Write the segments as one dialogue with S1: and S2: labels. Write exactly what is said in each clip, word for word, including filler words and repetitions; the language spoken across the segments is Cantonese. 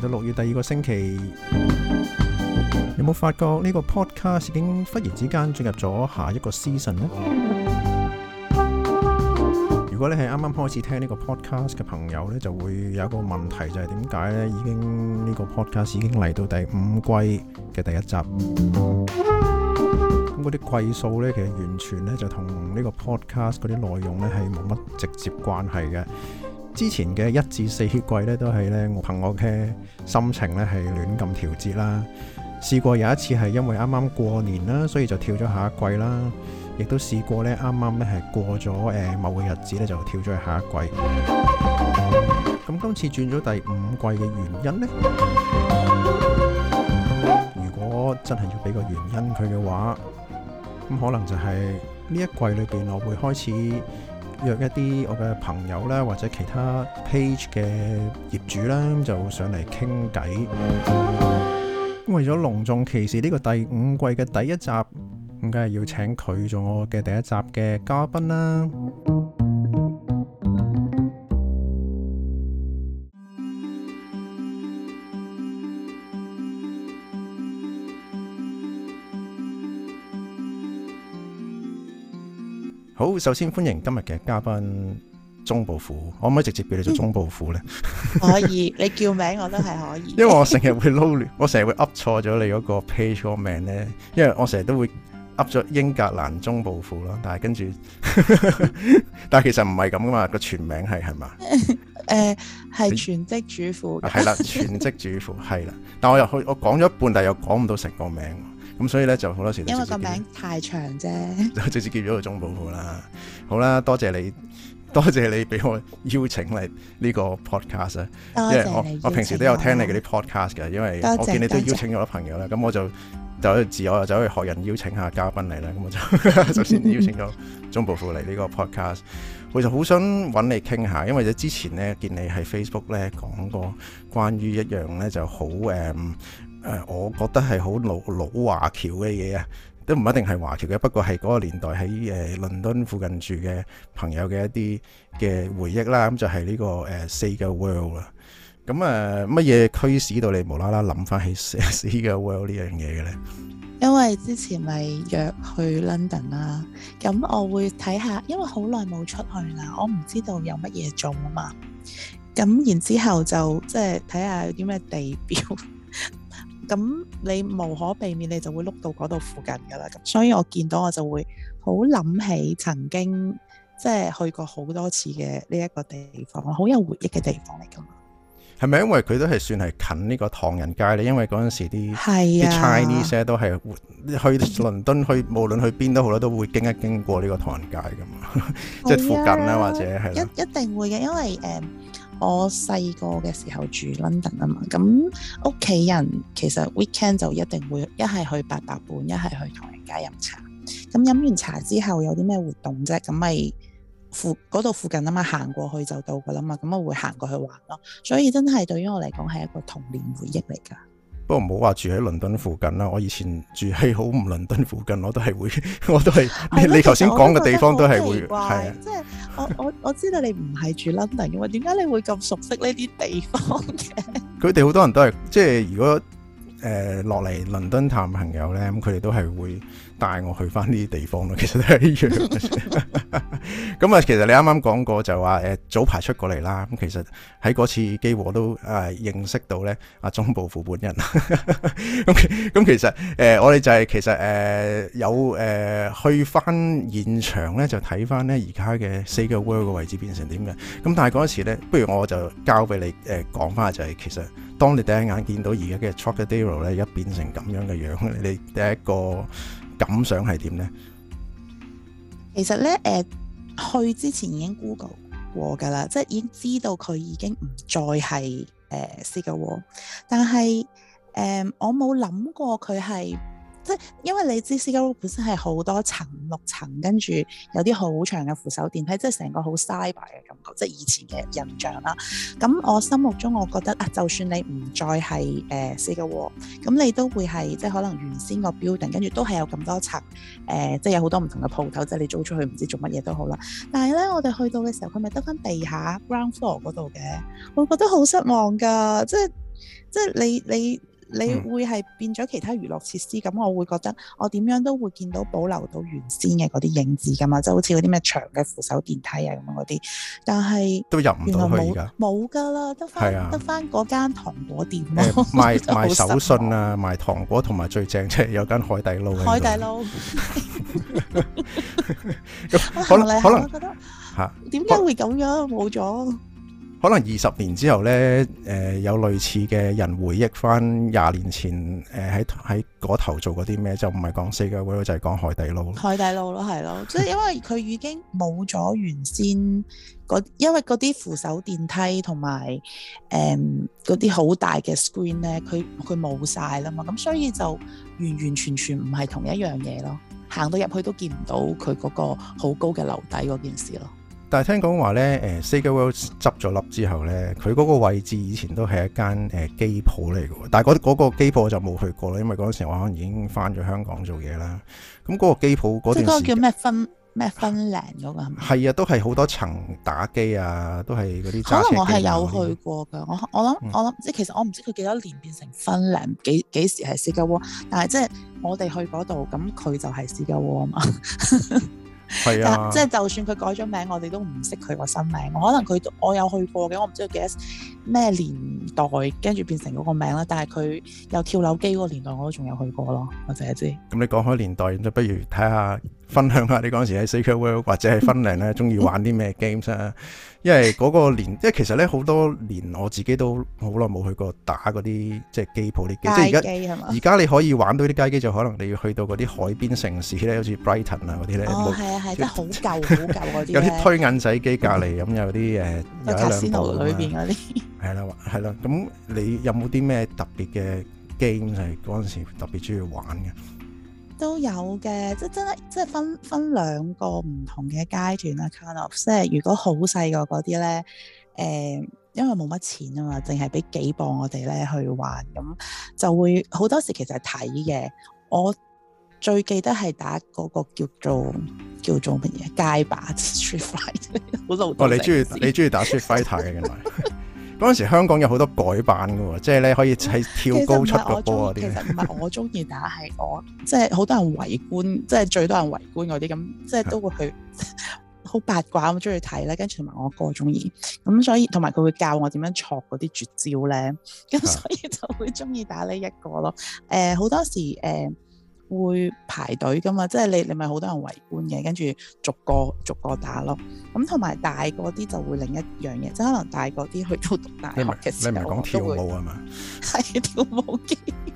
S1: 到六月第二個星期，有冇發覺呢個 podcast 已經忽然之間進入咗下一個 season 呢？如果你係啱啱開始聽呢個 podcast 嘅朋友呢，就會有一個問題，就係點解呢？已經呢個 podcast 已經嚟到第五季嘅第一集，咁嗰啲季數呢，其實完全呢就同呢個 podcast 嗰啲內容呢係冇乜直接關係嘅。之前嘅一至四季咧，都係咧我憑我嘅心情咧係亂咁調節啦。試過有一次係因為啱啱過年啦，所以就跳咗下一季啦。亦都試過咧，啱啱咧係過咗誒某個日子咧，就跳咗去下一季。咁今次轉咗第五季嘅原因呢？如果真係要俾個原因佢嘅話，咁可能就係呢一季裏邊我會開始約一啲我嘅朋友啦，或者其他 page 嘅業主啦，就上嚟傾偈。為咗隆重其事呢個第五季嘅第一集，咁梗係要請佢做我嘅第一集嘅嘉賓啦。好，首先歡迎今日嘅嘉賓鐘暴富，可唔可以直接叫你做鐘暴富呢？
S2: 可以，你叫名我都係可以。
S1: 因為我成日會撈亂，我成日會噏錯咗你嗰個 page 個名呢，因為我成日都會噏咗英格蘭鐘暴富咯，但係跟住，但係其實唔係咁噶嘛，個全名係係嘛？誒，
S2: 係、呃、全職主婦。係啦，全職主婦係啦，但我又去，我講咗一半，但係又講唔到成個名。咁所以咧就好多時因為個名太長啫，
S1: 就直接叫咗個鐘暴富啦。好啦，多謝你，多謝你俾我邀請嚟呢個 podcast 啊。因為我我平時都有聽你嗰啲 podcast 嘅，因為我見你都邀請咗朋友啦。咁我就就自我又走去學人邀請下嘉賓嚟啦。咁我就首先邀請咗鐘暴富嚟呢個 podcast。我就好想揾你傾下，因為之前咧見你喺 Facebook 咧講過關於一樣咧就好誒。誒、呃，我覺得係好老老華僑嘅嘢啊，都唔一定係華僑嘅，不過係嗰個年代喺誒、呃、倫敦附近住嘅朋友嘅一啲嘅回憶啦。咁就係呢、這個誒 Sega World 啦。咁誒乜嘢驅使到你無啦啦諗翻起 Sega World 呢樣嘢嘅咧？
S2: 因為之前咪約去 London 啦，咁我會睇下，因為好耐冇出去啦，我唔知道有乜嘢做啊嘛。咁然之後就即係睇下有啲咩地標。咁你無可避免，你就會碌到嗰度附近噶啦。咁所以我見到我就會好諗起曾經即係去過好多次嘅呢一個地方，好有回憶嘅地方嚟噶嘛。係咪因為佢都係算係近呢個唐人街咧？因為嗰陣時啲啲、啊、Chinese 都係去倫敦去，無論去邊都好啦，都會經一經過呢個唐人街噶嘛，即係附近啦，或者係一一定會嘅，因為誒。嗯我細個嘅時候住 London 啊嘛，咁屋企人其實 weekend 就一定會一係去八佰伴，一係去唐人街飲茶。咁飲完茶之後有啲咩活動啫？咁咪附嗰度附近啊嘛，行過去就到噶啦嘛，咁我會行過去玩咯。所以真係對於我嚟講係一個童年回憶嚟噶。
S1: 不過唔好話住喺倫敦附近啦，我以前住喺好唔倫敦附近，我都係會，我都係你你頭先講嘅地方都係會，係啊，
S2: 即係我我我知道你唔係住 London 嘅嘛，點解你會咁熟悉呢啲地方嘅？佢
S1: 哋好多人都係，即係如果誒落嚟倫敦探朋友咧，咁佢哋都係會帶我去翻呢啲地方咯。其實都係一樣嘅。咁啊，其實你啱啱講過就話誒、呃、早排出過嚟啦。咁其實喺嗰次機會我都誒、呃、認識到咧阿鐘暴富本人。咁咁其實誒、呃、我哋就係、是、其實誒、呃、有誒、呃、去翻現場咧，就睇翻咧而家嘅 Sega World 嘅位置變成點嘅。咁但係嗰時咧，不如我就交俾你誒講翻，就係其實當你第一眼見到而家嘅 Trocadero 咧，而家變成咁樣嘅樣，你第一個感想係點咧？
S2: 其實咧，誒、呃，去之前已經 Google 過噶啦，即係已經知道佢已經唔再係誒 Sega World，但係誒、呃、我冇諗過佢係。即係因為你知 Sega World 本身係好多層六層，跟住有啲好長嘅扶手電梯，即係成個好 cyber 嘅感覺，即係以前嘅印象啦。咁我心目中我覺得啊，就算你唔再係誒 Sega World，咁你都會係即係可能原先個 building，跟住都係有咁多層，誒、呃、即係有好多唔同嘅鋪頭，即係你租出去唔知做乜嘢都好啦。但係咧，我哋去到嘅時候，佢咪得翻地下 ground floor 嗰度嘅，我覺得好失望㗎，即係。 即係你你你會係變咗其他娛樂設施，咁、嗯、我會覺得我點樣都會見到保留到原先嘅嗰啲影子㗎嘛，即係好似嗰啲咩長嘅扶手電梯啊咁樣嗰啲，但係
S1: 都入唔到去而家
S2: 冇㗎啦，得翻得翻嗰間糖果店咯、
S1: 呃，賣賣手信啊，賣糖果同埋最正即係有間海底撈，
S2: 海底撈。
S1: 可能可能
S2: 覺得嚇點解會咁樣冇咗？
S1: 可能二十年之後咧，誒、呃、有類似嘅人回憶翻廿年前誒喺喺嗰頭做過啲咩，就唔係講四嘅 World 就係講海底撈。海底撈咯，係咯，即係因為佢已經冇咗原先嗰，因為嗰啲扶手電梯同埋誒嗰啲好大嘅 screen 咧，佢佢冇晒啦嘛，咁所以就完完全全唔係同一樣嘢咯。行到入去都見唔到佢嗰個好高嘅樓底嗰件事咯。但係聽講話咧，誒 Sega World 執咗笠之後咧，佢嗰個位置以前都係一間誒機鋪嚟嘅，但係嗰嗰個機鋪我就冇去過啦，因為嗰陣時我可能已經翻咗香港做嘢啦。咁嗰個機鋪嗰段時間，即係嗰個叫咩分咩分零嗰個係咪？係啊，都係好多層打機啊，都係嗰啲揸車機。可能我係有去過㗎，我我諗、嗯、我諗即係其實我唔知佢幾多年變成分零，幾幾時係 Sega World，但係即係我哋去嗰度，咁佢就係 Sega World 啊嘛。係啊，即係就算佢改咗名，我哋都唔識佢個新名。可能佢我有去過嘅，我唔知道幾多咩年代跟住變成嗰個名啦。但係佢有跳樓機嗰個年代，我都仲有去過咯。我淨係知。咁你講開年代，咁就不如睇下分享下你嗰陣時喺 Sega World 或者係分零咧，中意玩啲咩 games 啊？因為嗰個年，即係其實咧好多年我自己都好耐冇去過打嗰啲即係機鋪啲機，即係而家而家你可以玩到啲街機，就可能你要去到嗰啲海邊城市咧，好似 Brighton 啊嗰啲咧。哦，係啊係，真係好舊好舊嗰啲。有啲推銀仔機隔離，咁有啲誒有一兩部裏邊嗰啲。係啦係啦，咁你有冇啲咩特別嘅 game 係嗰陣時特別中意玩嘅？都有嘅，即係真係即係分分兩個唔同嘅階段啦。kind of 即係如果好細個嗰啲咧，誒、呃，因為冇乜錢啊嘛，淨係俾幾磅我哋咧去玩，咁就會好多時其實係睇嘅。我最記得係打嗰個叫做叫做乜嘢街霸 Street Fighter， 好老土。哦，你中意你中意打 Street Fighter 嘅原來。嗰陣時香港有好多改版嘅喎，即係咧可以喺跳高出個波嗰啲。其實唔係我中意打，係我即係好多人圍觀，即係最多人圍觀嗰啲咁，即係都會去好八卦咁中意睇咧。跟住同埋我哥中意，咁所以同埋佢會教我點樣錯嗰啲絕招咧，咁所以就會中意打呢一個咯。誒、呃、好多時誒。呃會排隊噶嘛，即係你你咪好多人圍觀嘅，跟住逐個逐個打咯。咁同埋大個啲就會另一樣嘢，即係可能大個啲去到讀大學嘅時候，你唔係講跳舞啊嘛？係跳舞機。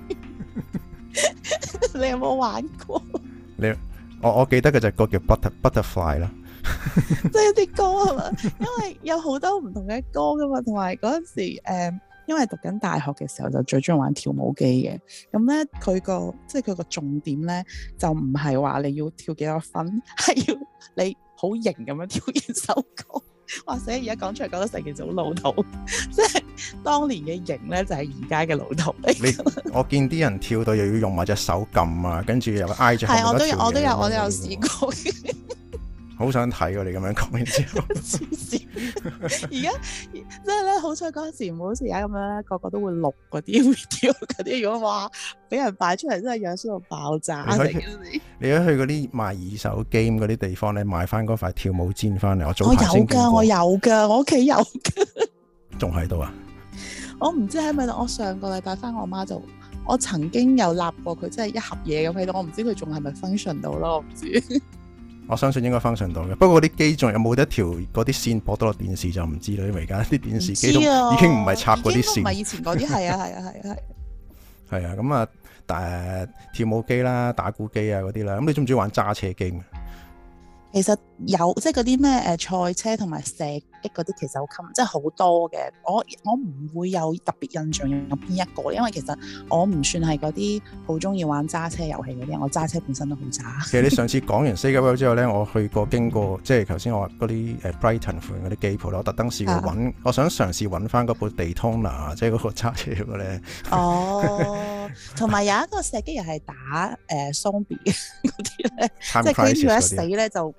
S1: 你有冇玩過？你我我記得嘅就係個叫 Butter Butterfly 啦。即係一啲歌係嘛？因為有好多唔同嘅歌噶嘛，同埋嗰陣時誒。嗯因為讀緊大學嘅時候就最中意玩跳舞機嘅，咁咧佢個即係佢個重點咧就唔係話你要跳幾多分，係要你好型咁樣跳完首歌。或者而家講出嚟覺得成件事好老土，即係當年嘅型咧就係而家嘅老土。你我見啲人跳到又要用埋隻手撳啊，跟住又挨住後面嗰條嘢。係我都有我都有我都有試過。好想睇喎！你咁樣講完之後，黐線！而家即係咧，好彩嗰陣時唔好似而家咁樣咧，個個都會錄嗰啲 video 嗰啲。如果話俾人擺出嚟，真係樣衰到爆炸。你可以去嗰啲賣二手 game 嗰啲地方咧，買翻嗰塊跳舞氈翻嚟。我早排先見過。我有㗎，我有㗎，我屋企有㗎。仲喺度啊？我唔知喺咪度。我上個禮拜翻我媽就，我曾經有立過佢，即係一盒嘢咁喺度。我唔知佢仲係咪 function 到咯，我唔知。我相信應該 function 到嘅，不過啲機仲有冇一條嗰啲線駁到落電視就唔知啦，因為而家啲電視機都已經唔係插嗰啲線，唔係以前嗰啲，係啊係啊係啊係。係啊，咁啊，誒跳舞機啦、打鼓機啊嗰啲啦，咁你中唔中意玩揸車機啊？其實有即係嗰啲咩誒賽車同埋射擊嗰啲，其實好襟，即係好多嘅。我我唔會有特別印象有邊一個，因為其實我唔算係嗰啲好中意玩揸車遊戲嗰啲人，我揸車本身都好渣。其實你上次講完 Sega World 之後咧，我去過經過，即係頭先我話嗰啲誒 Brighton 附近嗰啲機鋪，我特登試過揾、啊，我想嘗試揾翻嗰部 Daytona，即係嗰個揸車嘅咧。哦，同埋有一個射擊又係打誒 zombie 嗰啲咧，即係跟住一死咧就。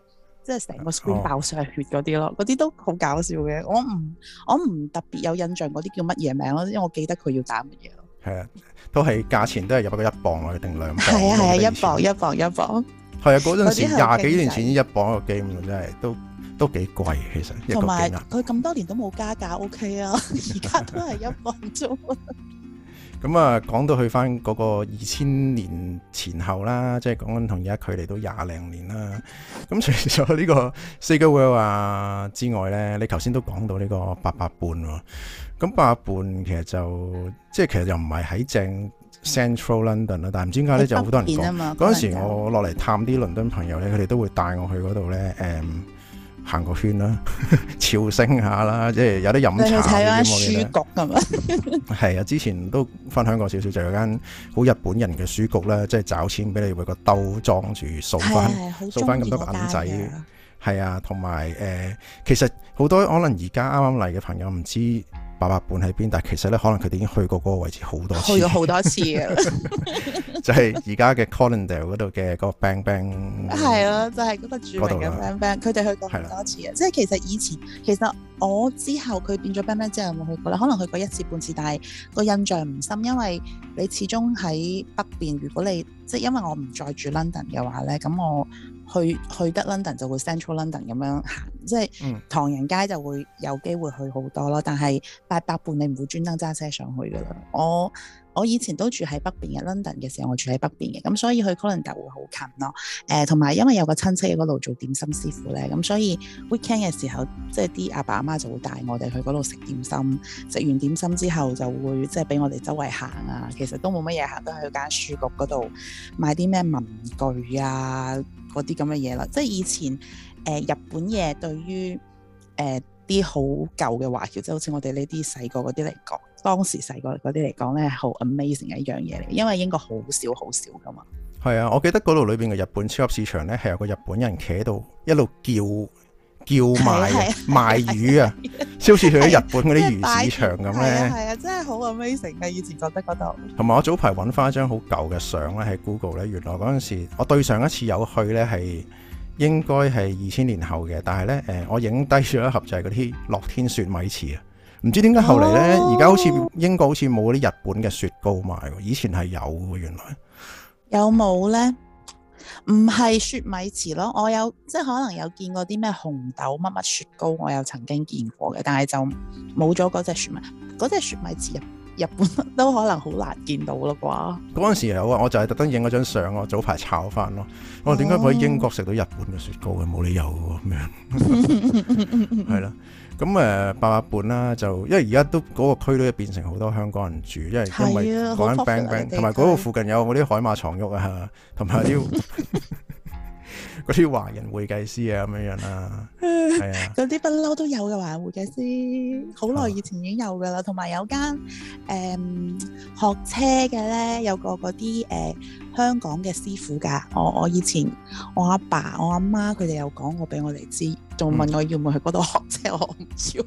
S2: 即係成個 screen 爆晒血嗰啲咯，嗰啲、哦、都好搞笑嘅。我唔我唔特別有印象嗰啲叫乜嘢名咯，因為我記得佢要打乜嘢咯。係
S1: 啊，都係價錢都係入一個一磅落去定兩磅？
S2: 係啊係啊，一磅一磅一磅。係
S1: 啊，嗰陣時廿幾年前一磅一個 game 真係都都幾貴，其實一個 game。同埋
S2: 佢咁多年都冇加價 ，OK 啊，而家都係一磅啫。
S1: 咁啊，講到去翻嗰個二千年前後啦，即係講緊同而家距離都廿零年啦。咁除咗呢個 Sega World 啊之外咧，你頭先都講到呢個八佰伴喎。咁八佰伴其實就即係其實又唔係喺正 Central London 啦，但係唔知點解咧就好多人講。嗰陣時我落嚟探啲倫敦朋友咧，佢哋都會帶我去嗰度咧，誒、嗯。行個圈啦，朝聖下啦，即係有啲飲茶。你去睇下書局係嘛？係啊，之前都分享過少少，就有間好日本人嘅書局啦，即係找錢俾你，會個兜裝住掃翻，掃翻咁多銀仔。係啊，同埋誒，其實好多可能而家啱啱嚟嘅朋友唔知八佰伴喺邊，但係其實咧可能佢哋已經去過嗰個位置好多次，
S2: 去咗好多次嘅。
S1: 就係而家嘅 Colindale 嗰度嘅嗰個 Bang Bang，
S2: 係咯，就係、是、嗰個著名嘅 Bang Bang，佢哋去過好多次嘅。即係其實以前，其實我之後佢變咗 Bang Bang 之後有冇去過咧？可能去過一次半次，但係個印象唔深，因為你始終喺北邊。如果你即係因為我唔再住 London 嘅話咧，咁我去去得 London 就會 Central London 咁樣行，即係唐人街就會有機會去好多咯。但係八佰伴你唔會專登揸車上去噶啦。我我以前都住喺北邊嘅 London 嘅時候，我住喺北邊嘅，咁所以去 Colindale 會好近咯。誒、呃，同埋因為有個親戚喺嗰度做點心師傅咧，咁所以 weekend 嘅時候，即係啲阿爸阿媽就會帶我哋去嗰度食點心。食完點心之後，就會即係俾我哋周圍行啊。其實都冇乜嘢行，都喺間書局嗰度買啲咩文具啊，嗰啲咁嘅嘢啦。即係以前誒、呃、日本嘢對於誒啲好舊嘅華僑，即係好似我哋呢啲細個嗰啲嚟講。當時細個嗰啲嚟講咧，好 amazing 嘅一樣嘢嚟，因為英國好少好少噶嘛。係
S1: 啊，我記得嗰度裏邊嘅日本超級市場咧，係有個日本人企喺度一路叫叫賣賣魚啊，即好似去咗日本嗰啲魚市場咁咧。係啊，
S2: 係啊，真係好 amazing 嘅。以前覺得嗰度。
S1: 同埋我早排揾翻一張好舊嘅相咧，喺 Google 咧，原來嗰陣時我對上一次有去咧係應該係二千年後嘅，但係咧誒，我影低咗一盒就係嗰啲樂天雪米糍啊。唔知點解後嚟咧，而家、哦、好似英國好似冇嗰啲日本嘅雪糕賣，以前係有嘅。原來
S2: 有冇咧？唔係雪米糍咯，我有即係可能有見過啲咩紅豆乜乜雪糕，我有曾經見過嘅，但係就冇咗嗰隻雪米，嗰隻雪米糍日日本都可能好難見到啦啩。嗰
S1: 陣時有啊，我就係特登影嗰張相，我早排炒翻咯。我點解可以英國食到日本嘅雪糕嘅？冇理由嘅咁樣，係啦。咁誒八佰伴啦，就因為而家都嗰個區都變成好多香港人住，因為因為嗰間 Bang Bang 同埋嗰個附近有嗰啲海馬床褥啊，同埋啲嗰啲華人會計師啊咁樣樣啦，係啊，
S2: 嗰啲不嬲都有嘅華人會計師，好耐以前已經有噶啦，同埋有間誒、嗯、學車嘅咧，有個嗰啲誒香港嘅師傅㗎，我我以前我阿爸我阿媽佢哋有講過俾我哋知，仲問我要唔要去嗰度學車，我唔要。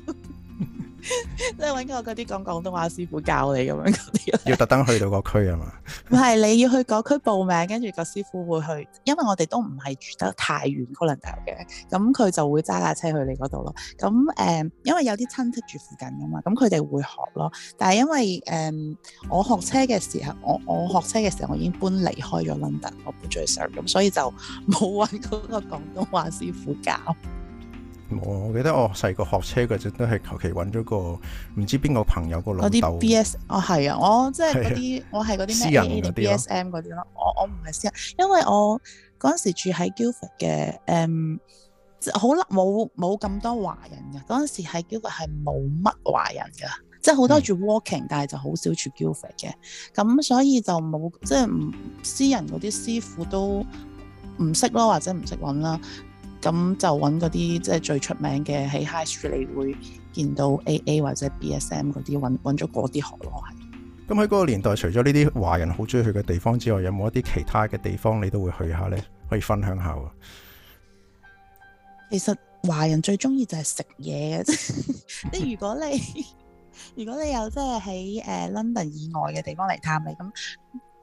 S2: 即係揾個嗰啲講廣東話師傅教你咁樣嗰啲，
S1: 要特登去到個區啊嘛？
S2: 唔係，你要去嗰區報名，跟住個師傅會去，因為我哋都唔係住得太遠 Colindale 嘅，咁佢就會揸架車去你嗰度咯。咁誒、呃，因為有啲親戚住附近噶嘛，咁佢哋會學咯。但係因為誒、呃，我學車嘅時候，我我學車嘅時候，我已經搬離開咗 London，我搬咗去 Surrey，咁所以就冇揾嗰個廣東話師傅教。
S1: 我記得我細個學車嗰陣都係求其揾咗個唔知邊個朋友個老豆。
S2: 嗰啲 B S 哦係啊，我即係嗰啲我係嗰啲咩 A A 定 B S M 嗰啲咯。我我唔係私人，因為我嗰陣時住喺 Guildford 嘅，誒好冇冇咁多華人嘅。嗰陣時喺 Guildford 係冇乜華人嘅，即係好多住 Walking，、嗯、但係就好少住 Guildford 嘅。咁所以就冇即係唔私人嗰啲師傅都唔識咯，或者唔識揾啦。咁就揾嗰啲即係最出名嘅喺 High Street，你會見到 A A 或者 B S M 嗰啲，揾揾咗嗰啲學咯。係。咁喺嗰個年代，除咗呢啲華人好中意去嘅地方之外，有冇一啲其他嘅地方你都會去下咧？可以分享下喎。其實華人最中意就係食嘢嘅啫。即係如果你如果你有即係喺誒 London 以外嘅地方嚟探你咁。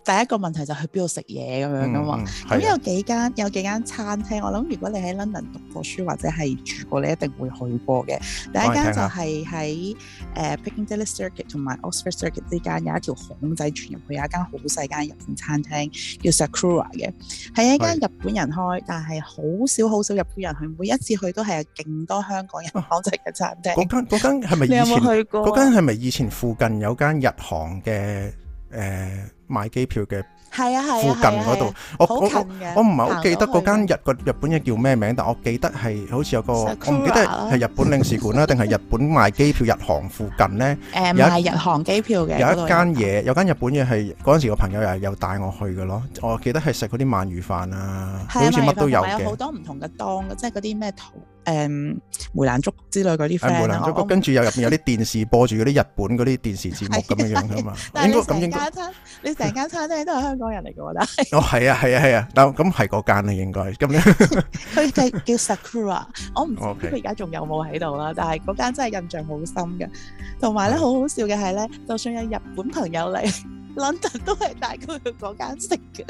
S2: 第一個問題就去邊度食嘢咁樣噶嘛。咁、嗯嗯、有幾間有幾間餐廳，我諗如果你喺 London 讀過書或者係住過，你一定會去過嘅。第一間就係喺誒 Piccadilly Circuit 同埋 Oxford Circuit 之間有一條巷仔轉入去，有一間好細間日本餐廳叫 Sakura 嘅，係一間日本人開，但係好少好少日本人去，每一次去都係有勁多香港人講食嘅餐廳。嗰間嗰間係咪以前？你有冇去過？嗰間係咪以前附近有間日航嘅？誒、呃，買機票嘅係啊係啊，附近嗰度，我我我唔係好記得嗰間日個日本嘢叫咩名，但我記得係好似有個，我唔記得係日本領事館啦，定係日本賣機票日航附近咧？誒，賣日航機票嘅，有一間嘢，有間日本嘢係嗰陣時個朋友又係有帶我去嘅咯。我記得係食嗰啲鰻魚飯啊，好似乜都有嘅，有好多唔同嘅檔，即係嗰啲咩圖。誒、嗯、梅蘭竹之類嗰啲 friend，梅蘭竹跟住又入邊有啲電視播住嗰啲日本嗰啲電視節目咁樣樣噶嘛。應該咁應該。你成間餐廳都係香港人嚟嘅喎，但係。哦，係啊，係啊，係啊，但咁係嗰間咧應該咁樣。佢嘅叫 Sakura， 我唔知佢而家仲有冇喺度啦。但係嗰間真係印象好深嘅。同埋咧，好好笑嘅係咧，就算有日本朋友嚟 London 都係帶佢去嗰間食嘅。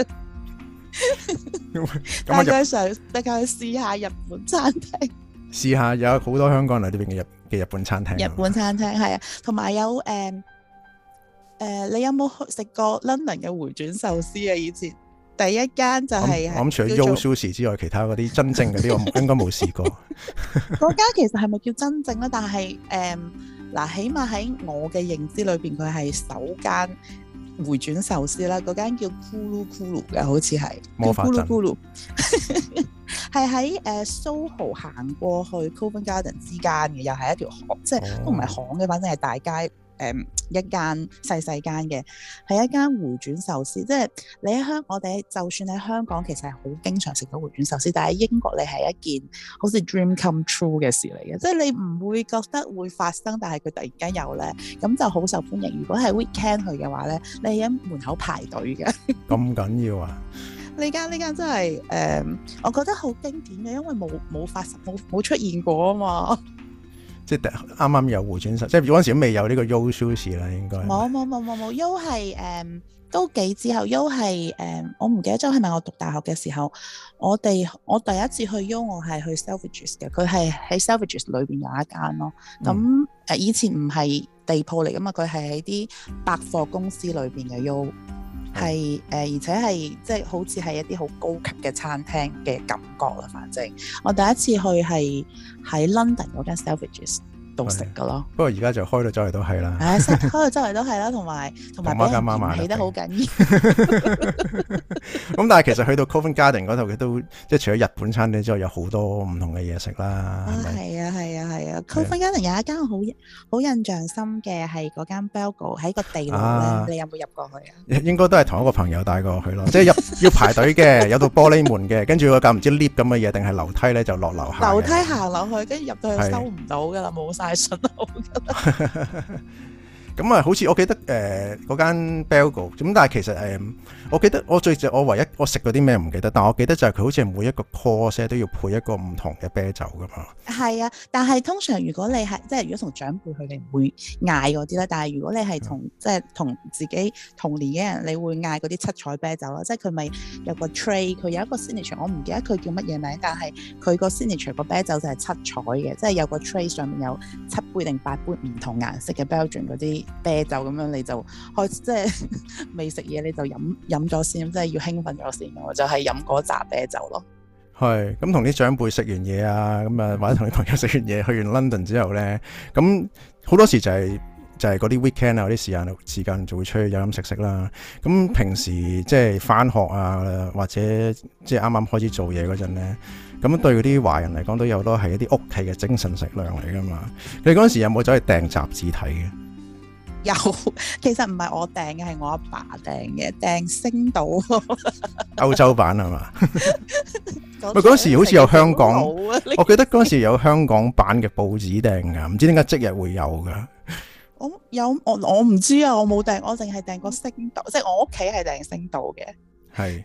S2: 帶佢上，帶佢去試下日本餐廳。
S1: 試下有好多香港人嚟呢邊嘅日嘅日本餐廳。日本餐廳係啊，同埋有誒誒、呃呃，你有冇食過 London 嘅回轉壽司啊？以前第一間就係、是、我諗除咗 Yo Sushi 之外，其他嗰啲真正嗰啲我應該冇試過。嗰間其實係咪叫真正咧？但係誒嗱，起碼喺我嘅認知裏邊，佢係首間回轉壽司啦。嗰間叫咕嚕咕嚕嘅，好似係魔法陣。咕嚕咕嚕係喺誒 Soho 行過去 Covent Garden 之間嘅，又係一條巷，即係都唔係巷嘅，反正係大街誒、呃、一間細細間嘅，係一間回轉壽司。即係你喺香，我哋就算喺香港，其實係好經常食到回轉壽司，但係喺英國你係一件好似 dream come true 嘅事嚟嘅，即係你唔會覺得會發生，但係佢突然間有咧，咁就好受歡迎。如果係 weekend 去嘅話咧，你喺門口排隊嘅。咁緊要啊！呢間呢間真係誒、呃，我覺得好經典嘅，因為冇冇發生冇冇出現過啊嘛。即係啱啱有回轉壽，即係嗰陣時都未有呢個 Yo Sushi 啦，應該。冇冇冇冇冇 Yo 係誒都幾之後 Yo 係誒，我唔記得咗係咪我讀大學嘅時候，我哋我第一次去 Yo 我係去 Selfridges 嘅，佢係喺 Selfridges 裏邊有一間咯。咁、嗯、誒、呃、以前唔係地鋪嚟噶嘛，佢係喺啲百貨公司裏邊嘅 Yo。係誒、呃，而且係即係好似係一啲好高級嘅餐廳嘅感覺啦。反正我第一次去係喺 London 嗰間 Selfridges 度食噶咯。不過而家就開到周圍都係啦。係開到周圍都係啦，同埋同埋俾人嫌棄得好緊要。咁但係其實去到 Covent Garden 嗰度嘅都即係除咗日本餐廳之外，有好多唔同嘅嘢食啦。係啊係啊係啊 Covent Garden 有一間好好印象深嘅係嗰間 Belgo 喺個地牢咧、啊，你有冇入過去啊？應該都係同一個朋友帶過去咯，即係入要排隊嘅，有道玻璃門嘅，跟住個架唔知 lift 咁嘅嘢定係樓梯咧，就落樓下。樓梯行落去，跟住入到去收唔到噶啦，冇晒信號噶啦。咁啊，好似我記得誒嗰間 Belgo 咁，但係其實誒、呃，我記得我最我唯一我食嗰啲咩唔記得，但我記得就係佢好似係每一個 course 都要配一個唔同嘅啤酒噶嘛。係啊，但係通常如果你係即係如果同長輩佢哋唔會嗌嗰啲咧，但係如果你係同、嗯、即係同自己同年嘅人，你會嗌嗰啲七彩啤酒啦，即係佢咪有個 tray， 佢有一個 signature， 我唔記得佢叫乜嘢名，但係佢個 signature 個啤酒就係七彩嘅，即係有個 tray 上面有七杯定八杯唔同顏色嘅 Belgian 嗰啲啤酒，咁樣你就開即係未食嘢你就飲飲咗先，即係要興奮咗先，我就係飲嗰扎啤酒咯。係咁同啲長輩食完嘢啊，咁啊或者同啲朋友食完嘢去完 London 之後咧，咁好多時就係、是、就係嗰啲 weekend 啊，嗰啲時間時間就會出去飲飲食食啦。咁平時即係翻學啊，或者即係啱啱開始做嘢嗰陣咧，咁對嗰啲華人嚟講都有好多係一啲屋企嘅精神食糧嚟噶嘛。你嗰陣時有冇走去訂雜誌睇嘅？有，其實唔係我訂嘅，係我阿爸訂嘅，訂星島歐洲版係嘛？喂，嗰時好似有香港，我記得嗰時有香港版嘅報紙訂噶，唔知點解即日會有噶。我有我我唔知啊，我冇訂，我淨係訂過星島，即係我屋企係訂星島嘅。係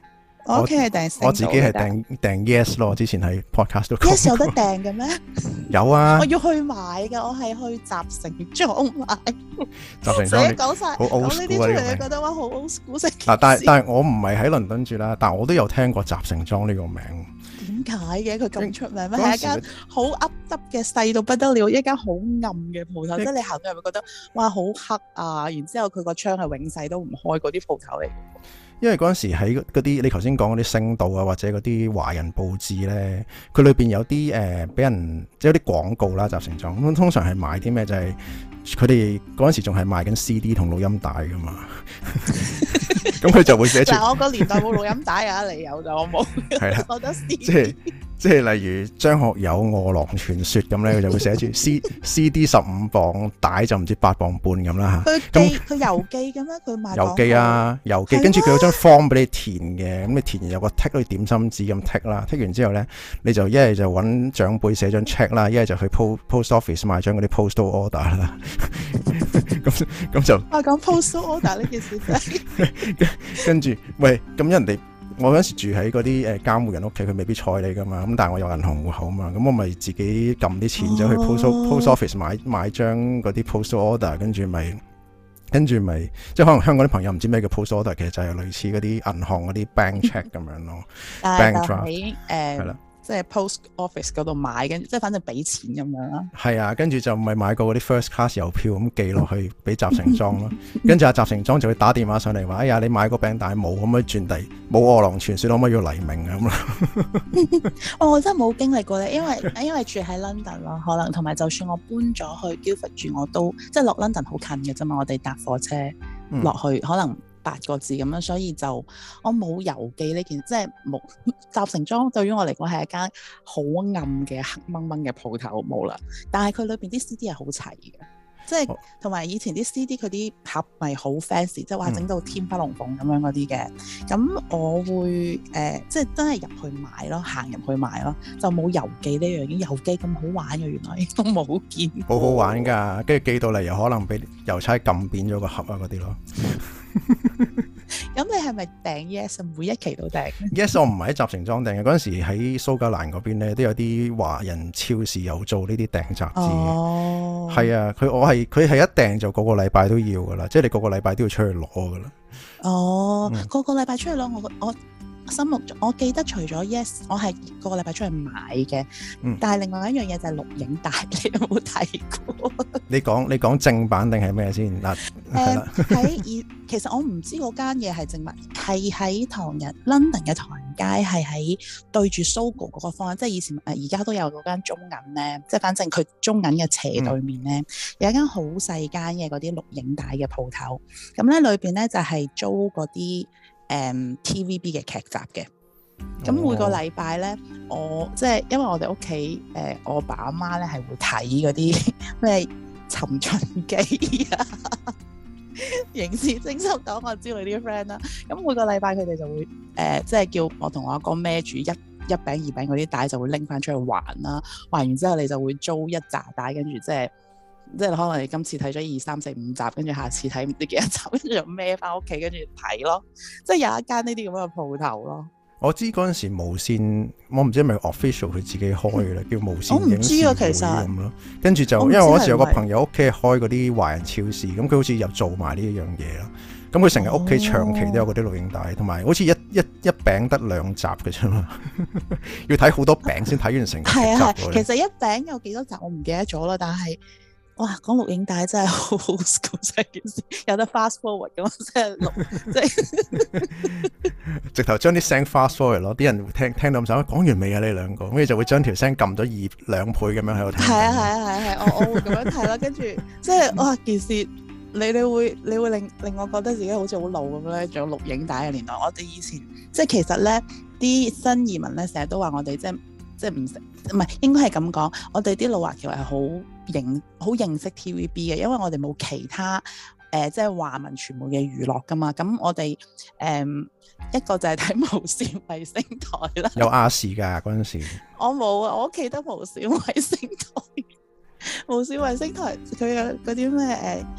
S2: 我屋企係訂星島，
S1: 我自己係訂訂 Yes 咯。之前喺 podcast 都講
S2: Yes 有得訂嘅咩？
S1: 有啊，
S2: 我要去買㗎，我係去集成裝買。
S1: 集成裝你
S2: 講晒，
S1: 好 old school 啊！
S2: 呢啲出嚟你覺得話好 old school 式。
S1: 嗱，但係但係我唔係喺倫敦住啦，但係我都有聽過集成裝呢個名。
S2: 點解嘅？佢咁出名咩？係一間好噏噏嘅細到不得了，一間好暗嘅鋪頭，即係你行到入去覺得哇好黑啊！然之後佢個窗係永世都唔開嗰啲鋪頭嚟。
S1: 因為嗰陣時喺嗰啲你頭先講嗰啲星島啊，或者嗰啲華人報紙咧，佢裏邊有啲誒俾人即係有啲廣告啦，集成裝咁通常係賣啲咩？就係佢哋嗰陣時仲係賣緊 C D 同錄音帶噶嘛，咁佢就會寫住。嗱，
S2: 我個年代冇錄音帶啊，你有就我冇。係啦，我得 C D。
S1: 即係即係例如張學友《餓狼傳說》咁咧，佢就會寫住 C C D 十五磅，帶就唔知八磅半咁啦嚇。
S2: 佢寄佢郵寄嘅咩？佢賣
S1: 郵寄啊，郵寄，跟住佢有張 form 俾你填嘅，咁你填完有個 tick 好似點心紙咁 tick 啦，tick 完之後咧，你就一係就揾長輩寫張 check 啦，一係就去 post post office 買張嗰啲 postal order 啦。咁咁就
S2: 啊講 postal order 呢件事真係
S1: 跟住喂，咁人哋。我嗰時住喺嗰啲誒監護人屋企，佢未必睬你噶嘛，咁但係我有銀行戶口嘛，咁我咪自己撳啲錢走去 post、oh. post office 買買張嗰啲 postal order，跟住咪跟住咪即係可能香港啲朋友唔知咩叫 postal order，其實就係類似嗰啲銀行嗰啲 bank check 咁樣咯，bank draft 係啦。即係 post office 嗰度買，跟即係反正俾錢咁樣啦。係啊，跟住就咪買過嗰啲 first class 郵票咁寄落去俾集成裝咯。跟住阿集成裝就會打電話上嚟話：哎呀，你買個餅帶冇，可唔可以轉遞？冇餓狼傳說，可唔可以要黎明啊咁啦？
S2: 哦，我真係冇經歷過咧，因為因為住喺 London 咯，可能同埋就算我搬咗去 Guildford 住，我都即係落 London 好近嘅啫嘛，我哋搭火車落去、嗯、可能。八個字咁樣，所以就我冇郵寄呢件，即係冇集成裝對於我嚟講係一間好暗嘅黑掹掹嘅鋪頭冇啦。但係佢裏邊啲 C D 係好齊嘅，即係同埋以前啲 C D 佢啲盒咪好 fancy，即係話整到天花龍鳳咁樣嗰啲嘅。咁我會誒、呃，即係真係入去買咯，行入去買咯，就冇郵寄呢樣嘢。郵寄咁好玩嘅，原來都冇見過。
S1: 好好玩㗎，跟住寄到嚟又可能俾郵差撳扁咗個盒啊嗰啲咯。
S2: 咁你係咪訂 Yes 每一期都訂
S1: Yes 我唔係喺集成裝訂嘅，嗰陣時喺蘇格蘭嗰邊咧都有啲華人超市有做呢啲訂雜誌。哦，係啊，佢我係佢係一訂就個個禮拜都要噶啦，即係你個個禮拜都要出去攞噶啦。哦，嗯、個個禮拜出去攞，我我心目中我記得除咗 Yes 我係個個禮拜出去買嘅、嗯，但係另外一樣嘢就係錄影帶，你有冇睇過？你講你講正版定係咩先嗱？
S2: 誒喺其實我唔知嗰間嘢係正版，係喺唐人 London 嘅唐人街，係喺對住 Sogo 嗰個方向，即係以前誒而家都有嗰間中銀咧，即係反正佢中銀嘅斜對面咧、嗯、有一間好細間嘅嗰啲錄影帶嘅鋪頭，咁咧裏邊咧就係租嗰啲誒 T V B 嘅劇集嘅。咁每個禮拜咧，我即係因為我哋屋企誒我爸阿媽咧係會睇嗰啲咩尋秦記啊。刑事偵緝檔案之類啲 friend 啦，咁每個禮拜佢哋就會誒、呃，即係叫我同我阿哥孭住一一餅二餅嗰啲帶，就會拎翻出去還啦。還完之後，你就會租一紮帶，跟住即係即係可能你今次睇咗二三四五集，跟住下次睇唔知幾多集，跟住就孭翻屋企，跟住睇咯。即係有一間呢啲咁嘅鋪頭咯。
S1: 我知嗰陣時無線，我唔知係咪 official 佢自己開嘅咧，叫無線影視會咁咯。跟住就因為我嗰時有個朋友屋企開嗰啲華人超市，咁佢好似又做埋呢一樣嘢咯。咁佢成日屋企長期都有嗰啲錄影帶，同埋好似一一一餅得兩集嘅啫嘛，要睇好多餅先睇完成個集。係啊係，其
S2: 實一餅有幾多集我唔記得咗啦，但係。哇！講錄影帶真係好好笑，成件事有得 fast forward 咁，即係錄，即係
S1: 直頭將啲聲 fast forward 咯，啲人聽聽到咁想講完未啊？你兩個，跟住就會將條聲撳咗二兩倍咁樣喺度聽。係啊係啊係係，我我會咁樣睇咯，跟住即係哇件事，你你會你會令令我覺得自己好似好老咁咧，仲有錄影帶嘅年代。我哋以前即係其實咧，啲新移民咧成日都話我哋即係即係唔識，唔係應該係咁講，我哋啲老華僑係好認好認識 T V B 嘅，因為我哋冇其他誒、呃、即係華文傳媒嘅娛樂噶嘛。咁我哋誒、呃、一個就係睇無線衛星台啦。 有亞視㗎嗰陣時。
S2: 我冇啊，我屋企得無線衛星台。無線衛星台佢有嗰啲咩誒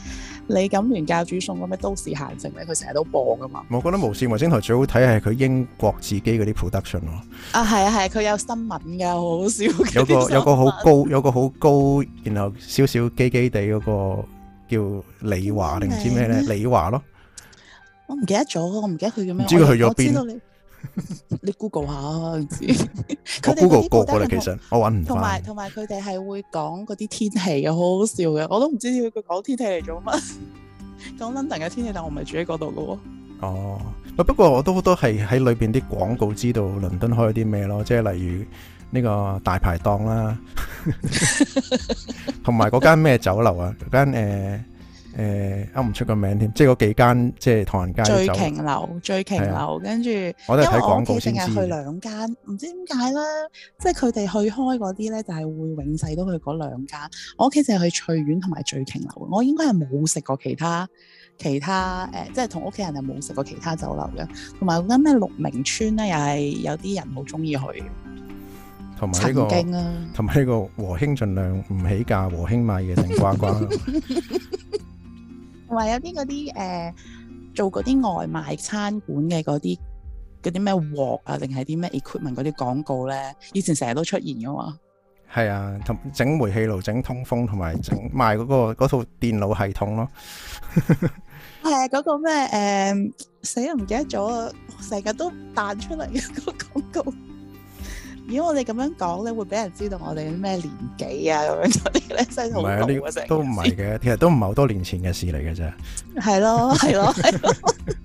S2: 李錦聯教主送嗰咩都市閒情咧，佢成日都播噶嘛。
S1: 我覺得無線衛星台最好睇係佢英國自己嗰啲 production 咯。啊，
S2: 係啊係，佢有新聞噶，好好笑。
S1: 有個有個好高，有個好高，然後少少基基地嗰個叫李華定唔知咩咧？李華咯。
S2: 我唔記得咗，我唔記得佢叫咩。
S1: 唔知佢去咗邊？
S2: 你你 Google 下啊，唔知。
S1: 我 Google 過過啦，其實我揾唔翻。
S2: 同埋同埋佢哋係會講嗰啲天氣嘅，好好笑嘅。我都唔知佢講天氣嚟做乜。講 London 嘅天氣，但我唔係住喺嗰度嘅喎。哦，
S1: 不過我都都係喺裏邊啲廣告知道倫敦開啲咩咯，即係例如呢個大排檔啦，同埋嗰間咩酒樓啊，嗰間誒。呃誒，噏唔出個名添，即係嗰幾間，即係唐人街
S2: 醉瓊樓、醉瓊樓，跟住，
S1: 我都係睇廣告先知。
S2: 因為我屋企淨係去兩間，唔知點解咧，即係佢哋去開嗰啲咧，就係會永世都去嗰兩間。我屋企淨係去翠苑同埋醉瓊樓，我應該係冇食過其他其他誒，即係同屋企人係冇食過其他酒樓嘅。同埋嗰間咩鹿鳴村咧，又係有啲人好中意去。
S1: 同埋呢個，同埋呢個和興盡量唔起價，和興買嘢定呱呱。
S2: 同埋有啲嗰啲誒做嗰啲外賣餐館嘅嗰啲嗰啲咩鑊啊，定係啲咩 equipment 嗰啲廣告咧，以前成日都出現噶嘛。
S1: 係啊，同整煤氣爐、整通風同埋整賣嗰個嗰套電腦系統咯。
S2: 係啊，嗰個咩誒死都唔記得咗啊！成日都彈出嚟嘅嗰個廣告。如果我哋咁樣講咧，會俾人知道我哋咩年紀啊咁樣嗰啲咧，真係好老啊！成
S1: 都唔係嘅，其實都唔係好多年前嘅事嚟嘅啫。
S2: 係咯，係咯，係咯。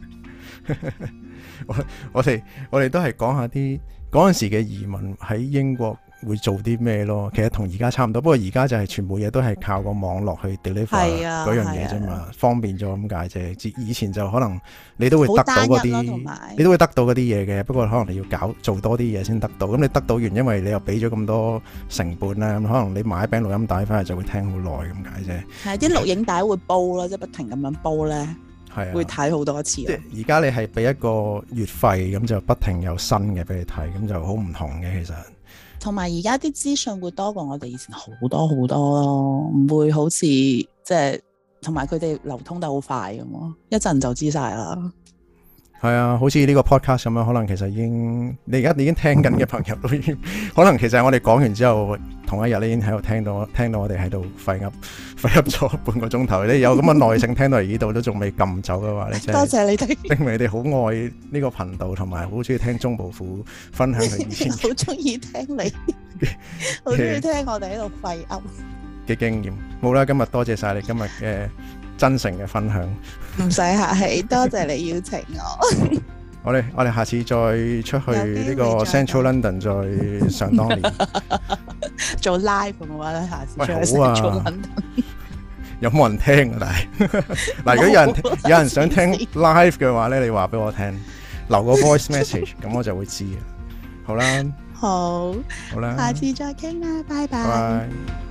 S1: 我我哋我哋都係講下啲嗰陣時嘅移民喺英國會做啲咩咯。其實同而家差唔多，不過而家就係全部嘢都係靠個網絡去 deliver 嗰樣嘢啫嘛，方便咗咁解啫。以前就可能你都會得到嗰啲，你都會得到嗰啲嘢嘅。不過可能你要搞做多啲嘢先得到。咁你得到完，因為你又俾咗咁多成本啦，咁可能你買一餅錄音帶翻嚟就會聽好耐咁解啫。係啲錄影帶會煲咯，即係不停咁樣煲咧。係啊，會睇好多次。即係而家你係俾一個月費，咁就不停有新嘅俾你睇，咁就好唔同嘅其實。同埋而家啲資訊會多過我哋以前好多好多咯，唔會好似即係，同埋佢哋流通得好快咁咯，一陣就知晒啦。係啊，好似呢個 podcast 咁樣，可能其實已經你而家已經聽緊嘅朋友都已經，可能其實我哋講完之後，同一日你已經喺度聽到，聽到我哋喺度廢噏廢噏咗半個鐘頭。你有咁嘅耐性聽到嚟呢度都仲未撳走嘅話，你真係多謝你哋，證明你哋好愛呢個頻道，同埋好中意聽鐘部虎分享佢以前好中意聽你，好中意聽我哋喺度廢噏嘅經驗。冇啦，今日多謝晒你今日嘅真誠嘅分享，唔使客氣，多謝你邀請我。我哋我哋下次再出去呢個 Central London 再上當年做 live 嘅話咧，下次出去 Central London。有冇人聽啊？但係嗱，如果有人有人想聽 live 嘅話咧，你話俾我聽，留個 voice message，咁我就會知。好啦，好，好啦，下次再傾啦，拜拜。